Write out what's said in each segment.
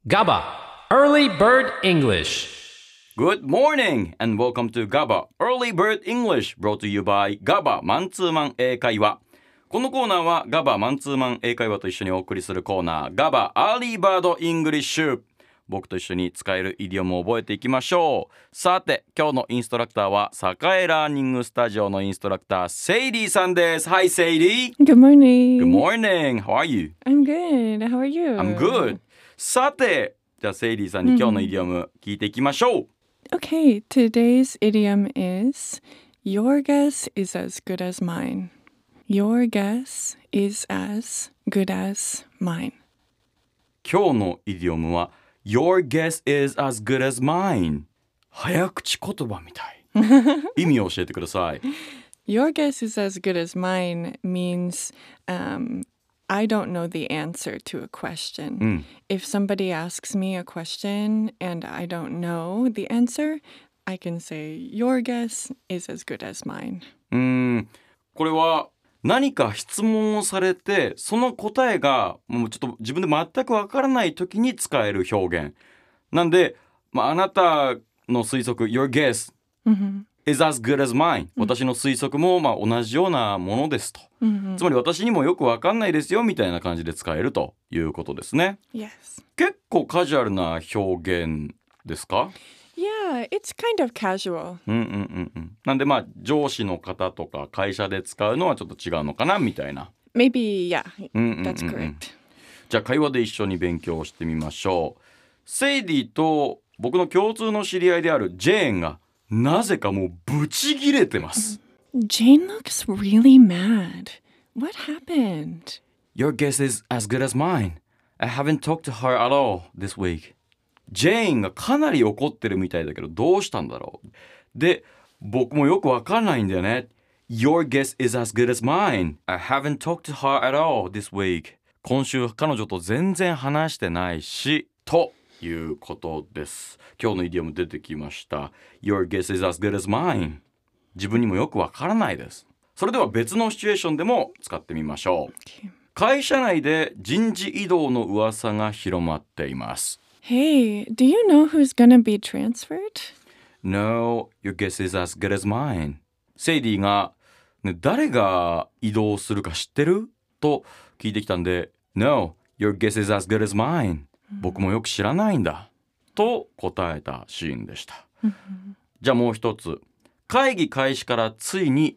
GABA Early Bird English. Good morning and welcome to GABA Early Bird English brought to you by GABA マンツーマン英会話。このコーナーは GABA マンツーマン英会話と一緒にお送りするコーナー GABA Early Bird English。僕と一緒に使えるイディオムを覚えていきましょう。さて今日のインストラクターは栄ラーニングスタジオのインストラクターセイリーさんです。Hi Sadie. Good morning. Good morning. How are you? I'm good. How are you? I'm good. さてじゃあセイリーさんに今日のイディオム聞いていきましょう。 Okay, today's idiom is Your guess is as good as mine. Your guess is as good as mine. 今日のイディオムは Your guess is as good as mine。 早口言葉みたい。意味を教えてください。 Your guess is as good as mine means I don't know the answer to a question. If somebody asks me a question and I don't know the answer, I can say, Your guess is as good as mine. これは何か質問をされてその答えがもうちょっと自分で全くわからない時に使える表現なんで、あなたの推測 Your guess is as good as mine、私の推測も同じようなものですと、つまり私にもよくわかんないですよみたいな感じで使えるということですね。 Yes. 結構カジュアルな表現ですか？ Yeah, it's kind of casual. なんで上司の方とか会社で使うのはちょっと違うのかなみたいな。 Maybe, yeah, that's correct. じゃあ会話で一緒に勉強してみましょう。セイディと僕の共通の知り合いであるジェーンがなぜかもうブチギレてます。 Jane looks really mad. What happened? Your guess is as good as mine. I haven't talked to her at all this week. ジェーンがかなり怒ってるみたいだけどどうしたんだろう。で、僕もよくわかんないんだよね。Your guess is as good as mine. I haven't talked to her at all this week. 今週彼女と全然話してないし、ということです。今日のイディオム出てきました。Your guess is as good as mine. 自分にもよくわからないです。それでは別のシチュエーションでも使ってみましょう。会社内で人事異動の噂が広まっています。 Hey, do you know who's gonna be transferred? No, your guess is as good as mine. セイディが、誰が移動するか知ってる？と聞いてきたんで No, your guess is as good as mine. 僕もよく知らないんだ。と答えたシーンでした。じゃあもう一つ。会議開始からついに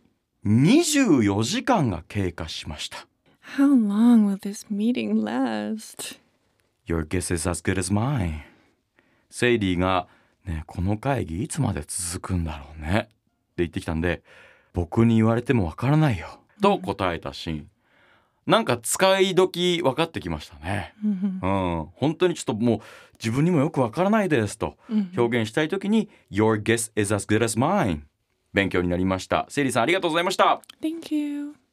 24時間が経過しました。 How long will this meeting last?Your guess is as good as mine. セイリーが、この会議いつまで続くんだろうねって言ってきたんで僕に言われてもわからないよと答えたシーン。なんか使い時分かってきましたね。本当にちょっともう自分にもよくわからないですと表現したい時に Your guess is as good as mine。 勉強になりました。セイリーさんありがとうございました。 Thank you.